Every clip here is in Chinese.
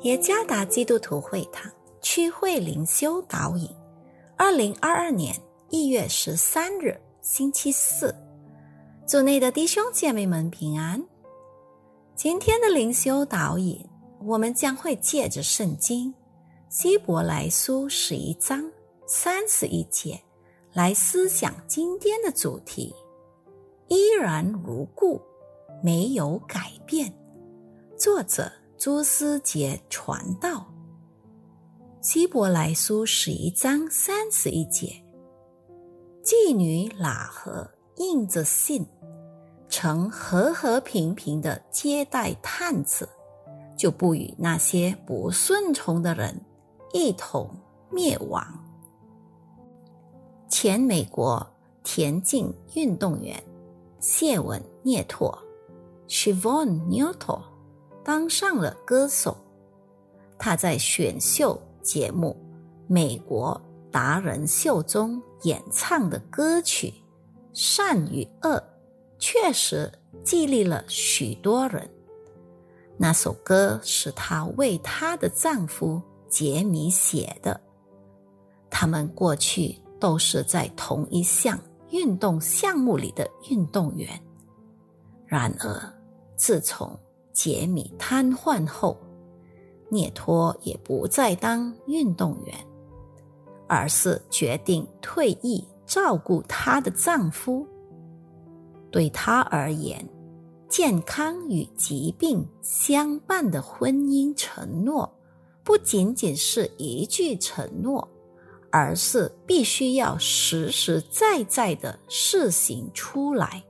耶加达基督徒会堂区会灵修导引2022年1月13日星期四，主内的弟兄姐妹们平安。今天的灵修导引，我们将会借着圣经希伯来书11章31节来思想今天的主题，依然如故，没有改变。作者朱思杰传道。希伯来书11章31节，妓女喇合应着信，曾和和平平地接待探子，就不与那些不顺从的人一同灭亡。前美国田径运动员谢文涅托 Shivon Newton 当上了歌手。他在选秀节目美国达人秀中演唱的歌曲《善与恶》确实激励了许多人。那首歌是她为她的丈夫杰米写的，他们过去都是在同一项运动项目里的运动员。然而自从杰米瘫痪后，涅托也不再当运动员，而是决定退役照顾她的丈夫。对她而言，健康与疾病相伴的婚姻承诺不仅仅是一句承诺，而是必须要实实在在地实行出来。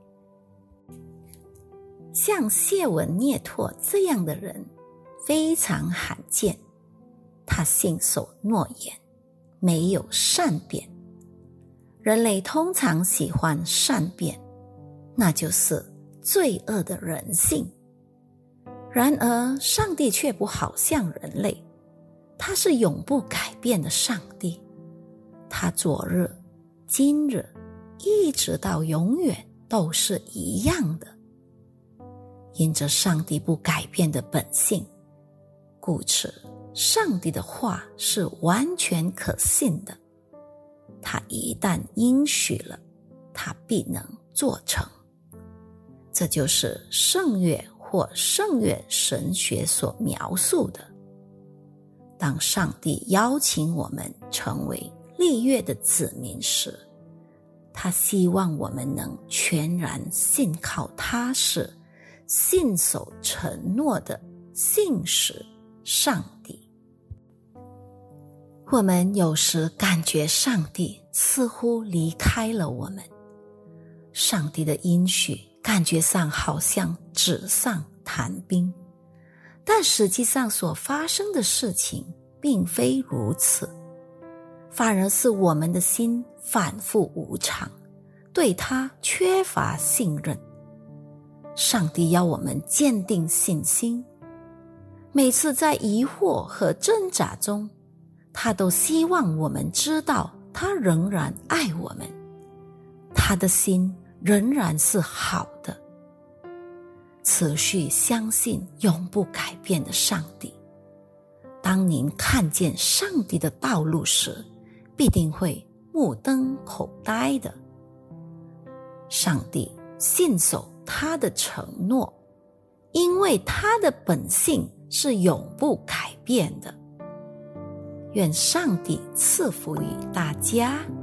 像谢文涅托这样的人非常罕见，他信守诺言，没有善变。人类通常喜欢善变，那就是罪恶的人性。然而上帝却不好像人类，他是永不改变的上帝，他昨日、今日一直到永远都是一样的。因着上帝不改变的本性，故此上帝的话是完全可信的，他一旦应许了，他必能做成。这就是圣约或圣约神学所描述的。当上帝邀请我们成为立约的子民时，他希望我们能全然信靠他是信守承诺的信实上帝。我们有时感觉上帝似乎离开了我们，上帝的应许感觉上好像纸上谈兵，但实际上所发生的事情并非如此，反而是我们的心反复无常，对他缺乏信任。上帝要我们坚定信心，每次在疑惑和挣扎中，他都希望我们知道他仍然爱我们，他的心仍然是好的。持续相信永不改变的上帝，当您看见上帝的道路时，必定会目瞪口呆的。上帝信守他的承诺，因为他的本性是永不改变的。愿上帝赐福于大家。